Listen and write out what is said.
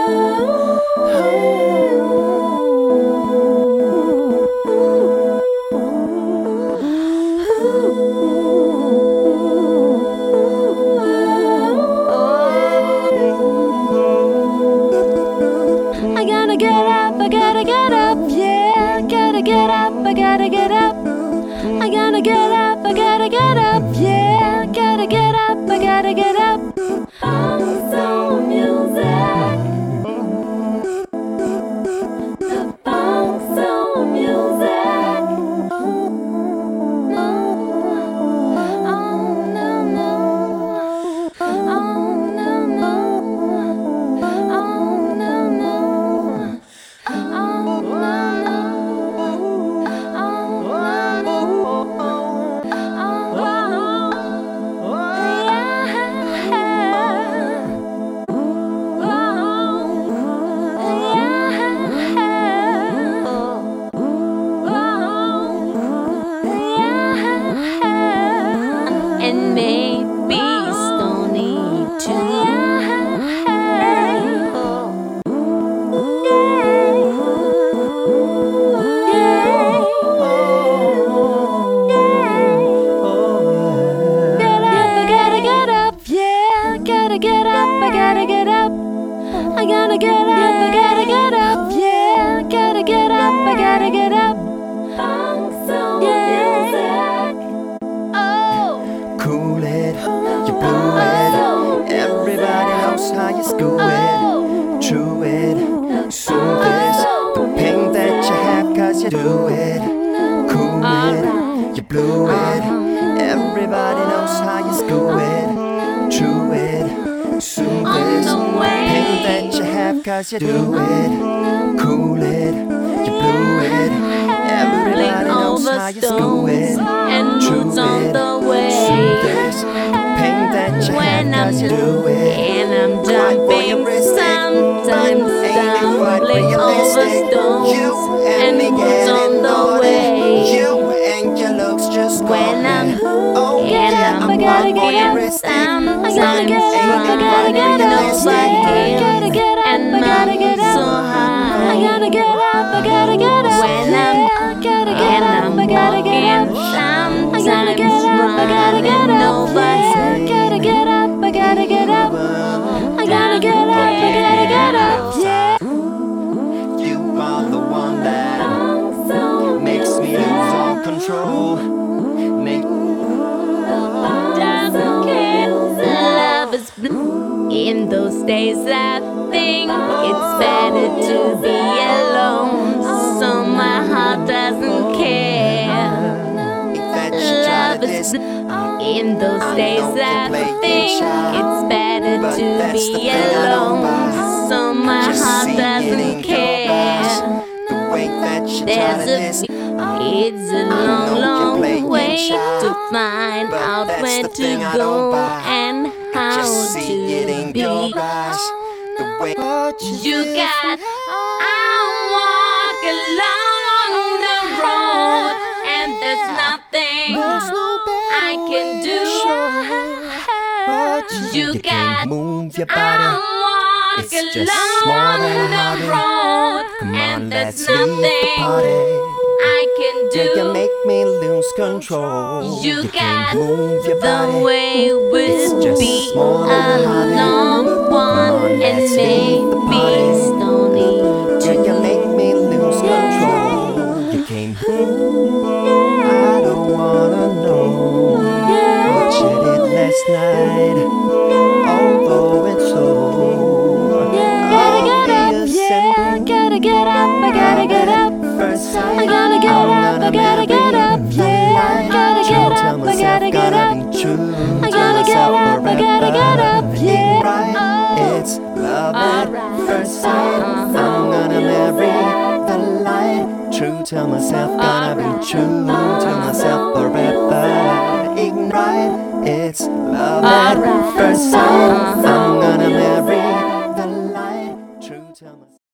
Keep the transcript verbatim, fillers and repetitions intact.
I gotta get up, I gotta get up, yeah. Gotta get up, I gotta get up. I gotta get up, I gotta get up, yeah. Gotta get up, I gotta get up. Funk soul music. The funk soul music. No, oh no no, oh no no, oh no no. And maybe Stony too. I gotta get up, I gotta get up. I gotta get up, I gotta get up, yeah. Gotta get up, I gotta get up. Funk soul music. Oh, cool it, you blew it. Everybody knows how you screw it. True it, soothe this. The pain that you have cause you do it. Cool it, you blew it. Everybody knows how you screw it. True it, soothe this. The pain that you have cause you do it. Cool it, you blew it. Everybody knows how you screw it. And moods on the way. Soothe this. Pain that you When have I'm cause you do it. and I'm jumping, sometimes stumbling over stones, and moods on the way. You and your looks just When I'm oh, and I'm I'm gotta walking get up, risky. sometimes I gotta get up, I gotta get up, yeah. Gotta get up, and I gotta get mountains up. so high. I gotta get up, I gotta get up. When I'm gotta get and up, I'm I gotta get walking, up. sometimes I gotta get up, I gotta get running up. over. Yeah. Gotta get up, I gotta get up. I gotta get up, I gotta get up. Yeah. You are the one that makes me lose all control. Make Doesn't care. Love is blue. In those days I think it's better to be alone, so my heart doesn't care. that you try Love to is diss. blue. In those days know I you play think child, it's better but to that's the be thing I don't buy. alone, so my Just heart see it in doesn't your eyes. care. The way that you try There's to a diss. It's a I long, know you're long playing way child, to find but out that's where the to thing I don't go buy. and how Just see it to in be. your eyes. The way You got, I walk along the road, and there's nothing I can do. You you got, can't move your I body. walk It's just small along and the hard. road, Come and on, there's let's leave the nothing party. I can do. Yeah, you make me lose control. You can't got move your the body. way It's would just be small and a hard. long Come one, on, and let's leave the maybe party. Stony Yeah, you too. make me lose control. You can't. I don't wanna know what you did last night. Although it's so Gotta get up, yeah. Gotta get up, I gotta get up. first sight. I gotta get up, I gotta get up, yeah. Gotta get up, I gotta get up. I gotta get up, I gotta get up, yeah. It's love at Alright. first sight. I'm gonna marry the light. True to myself, gonna be true to myself forever. Ignite. It's love at Alright. first sight. I'm gonna marry the light. True to myself.